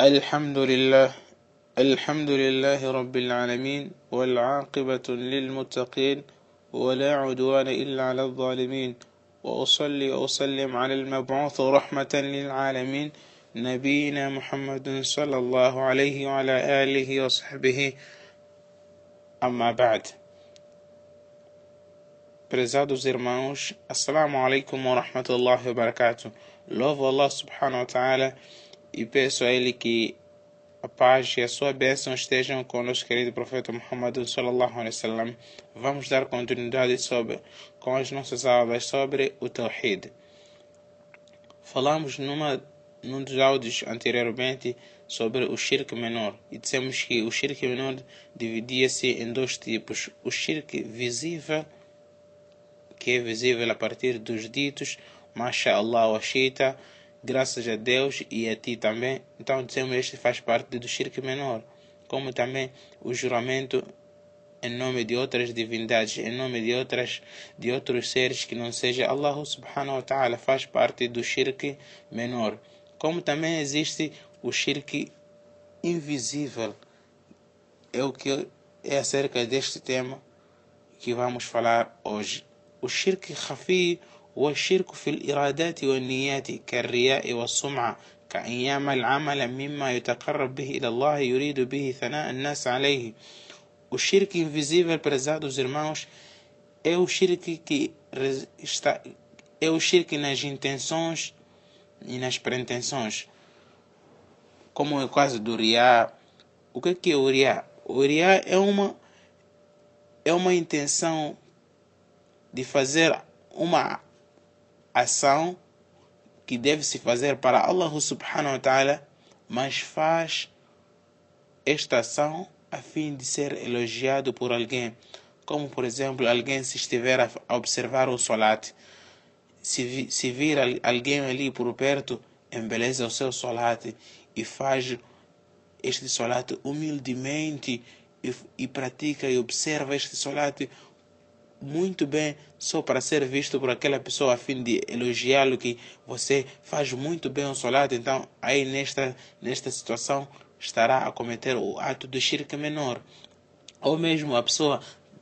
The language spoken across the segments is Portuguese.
الحمد لله الحمد لله رب العالمين والعاقبة للمتقين ولا عدوان إلا على الظالمين وأصلي وأسلم على المبعوث رحمة للعالمين نبينا محمد صلى الله عليه وعلى آله وصحبه أما بعد. Prezados irmãos, Assalamu alaikum wa rahmatullahi wa barakatuh. Louvo Allah subhanahu wa ta'ala e peço a Ele que a paz e a sua bênção estejam com o nosso querido profeta Muhammad sallallahu alaihi wasallam. Vamos dar continuidade com as nossas aulas sobre o Tawhid. Falamos num dos áudios anteriormente sobre o shirk menor e dissemos que o shirk menor dividia-se em dois tipos: o shirk visível, que é visível a partir dos ditos Masha'Allah wa Shita, graças a Deus e a ti também. Então dizemos este faz parte do shirk menor, como também o juramento em nome de outras divindades, em nome de outros seres que não seja Allah subhanahu wa ta'ala, faz parte do shirk menor. Como também existe o shirk invisível, é o que é acerca deste tema que vamos falar hoje. O shirk khafi هو الشرك في الإرادات والنيات كالرياء والسمعة كأن يعمل عملا مما يتقرب به إلى الله يريد به ثناء الناس عليه. O shirk invisível, prezados irmãos, é o shirk nas intenções e nas pretensões, como é o caso do riá. O que é o riá? O riá é uma intenção de fazer uma ação que deve se fazer para Allah subhanahu wa ta'ala, mas faz esta ação a fim de ser elogiado por alguém. Como por exemplo, alguém se estiver a observar o salat, se vir alguém ali por perto, embeleza o seu salat e faz este salat humildemente e pratica e observa este salat muito bem, só para ser visto por aquela pessoa a fim de elogiá-lo, que você faz muito bem o salat. Então aí nesta situação estará a cometer o ato do shirk menor. Ou mesmo a pessoa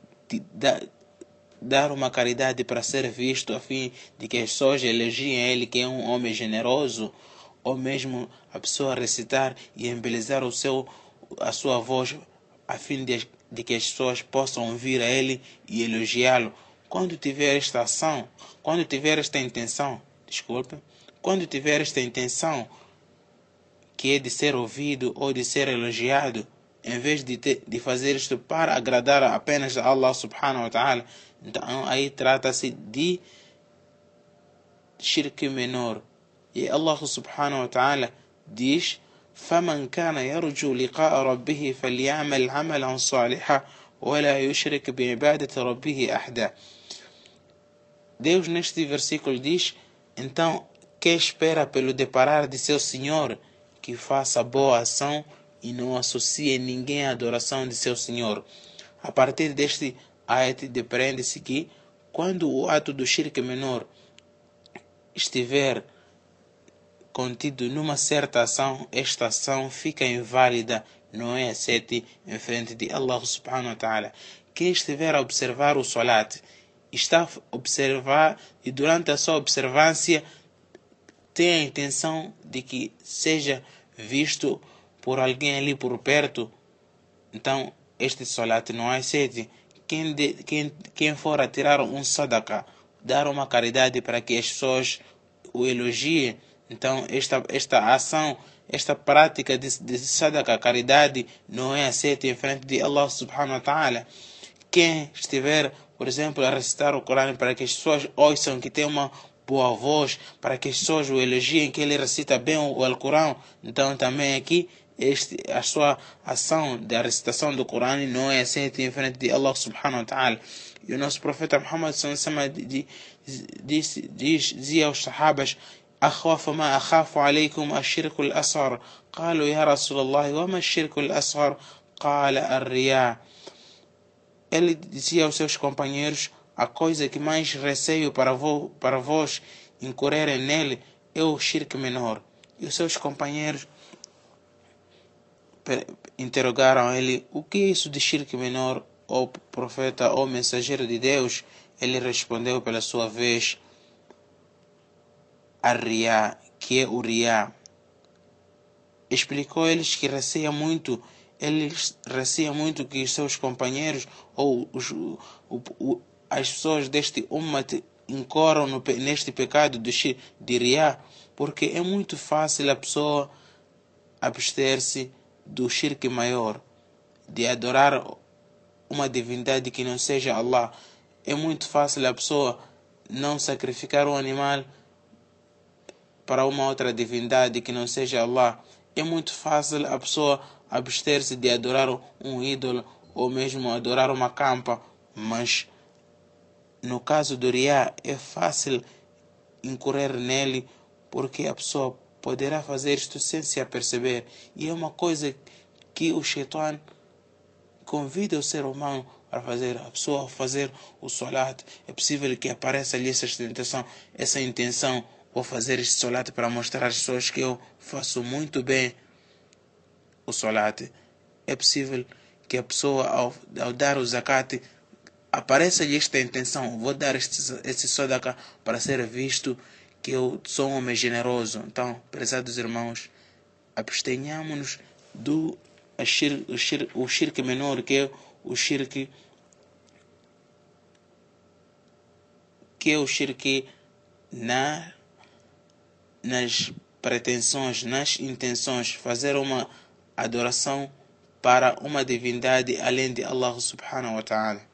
dar uma caridade para ser visto a fim de que as pessoas elogiem ele, que é um homem generoso. Ou mesmo a pessoa recitar e embelezar a sua voz a fim de que as pessoas possam ouvir a ele e elogiá-lo. Quando tiver esta ação, quando tiver esta intenção que é de ser ouvido ou de ser elogiado, em vez de fazer isto para agradar apenas a Allah subhanahu wa ta'ala, então aí trata-se de shirk menor. E Allah subhanahu wa ta'ala diz: فمن كان يرجو لقاء ربه فليعمل عملا صالحا ولا يشرك بعبادة ربه أحدا. Deus neste versículo diz: então, quem espera pelo deparar de seu Senhor, que faça boa ação e não associe ninguém à adoração de seu Senhor. A partir deste ayat depreende-se que quando o ato do shirk menor estiver contido numa certa ação, esta ação fica inválida, não é aceite em frente de Allah subhanahu wa ta'ala. Quem estiver a observar o salat, está a observar e durante a sua observância tem a intenção de que seja visto por alguém ali por perto, então este salat não é aceite. Quem for a tirar um sadaqa, dar uma caridade para que as pessoas o elogiem, então esta ação, esta prática de sadaqa, caridade, não é aceita em frente de Allah subhanahu wa ta'ala. Quem estiver, por exemplo, a recitar o Corão para que as pessoas ouçam, que tem uma boa voz, para que as pessoas o elogiem, que ele recita bem o Alcorão, então também aqui a sua ação da recitação do Corão não é aceita em frente de Allah subhanahu wa ta'ala. E o nosso profeta Muhammad sallallahu alaihi wasallam dizia aos sahabas: أخاف ما أخاف عليكم الشرك الأصغر قالوا يا رسول الله وما الشرك الأصغر قال الرياء. Ele dizia aos seus companheiros: a coisa que mais receio para vós incorrerem nele é o shirk menor. E os seus companheiros interrogaram ele: o que é isso de shirk menor, ó profeta, ó mensageiro de Deus? Ele respondeu pela sua vez: Ar-Riya, que é o Riya. Explicou eles que ele receia muito que os seus companheiros ou as pessoas deste ummat incorram neste pecado de Riya, porque é muito fácil a pessoa abster-se do shirk maior, de adorar uma divindade que não seja Allah. É muito fácil a pessoa não sacrificar um animal para uma outra divindade que não seja Allah. É muito fácil a pessoa abster-se de adorar um ídolo ou mesmo adorar uma campa, mas no caso do Riya é fácil incorrer nele, porque a pessoa poderá fazer isto sem se aperceber, e é uma coisa que o Shaitan convida o ser humano para fazer. A pessoa fazer o salat, é possível que apareça ali essa intenção: vou fazer este salat para mostrar às pessoas que eu faço muito bem o salat. É possível que a pessoa ao dar o zakat apareça-lhe esta intenção: vou dar este sadaqa para ser visto que eu sou um homem generoso. Então, prezados irmãos, abstenhamos-nos do o shirk menor, que é o shirk nas pretensões, nas intenções, fazer uma adoração para uma divindade além de Allah subhanahu wa ta'ala.